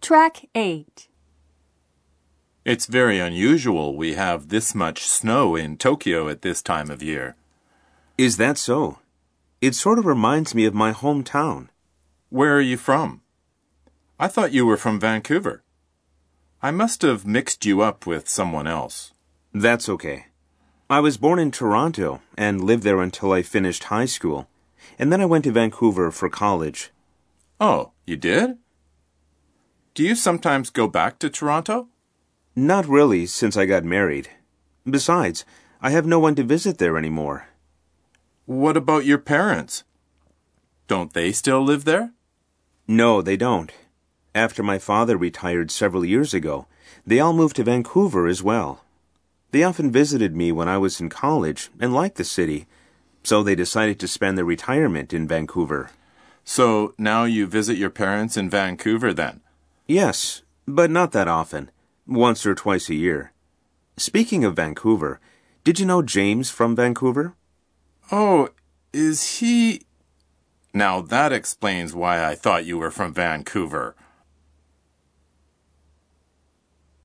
Track 8. It's very unusual we have this much snow in Tokyo at this time of year. Is that so? It sort of reminds me of my hometown. Where are you from? I thought you were from Vancouver. I must have mixed you up with someone else. That's okay. I was born in Toronto and lived there until I finished high school, and then I went to Vancouver for college. Oh, you did? Do you sometimes go back to Toronto? Not really, since I got married. Besides, I have no one to visit there anymore. What about your parents? Don't they still live there? No, they don't. After my father retired several years ago, they all moved to Vancouver as well. They often visited me when I was in college and liked the city, so they decided to spend their retirement in Vancouver. So now you visit your parents in Vancouver then? Yes, but not that often. Once or twice a year. Speaking of Vancouver, did you know James from Vancouver? Oh, is he... Now that explains why I thought you were from Vancouver.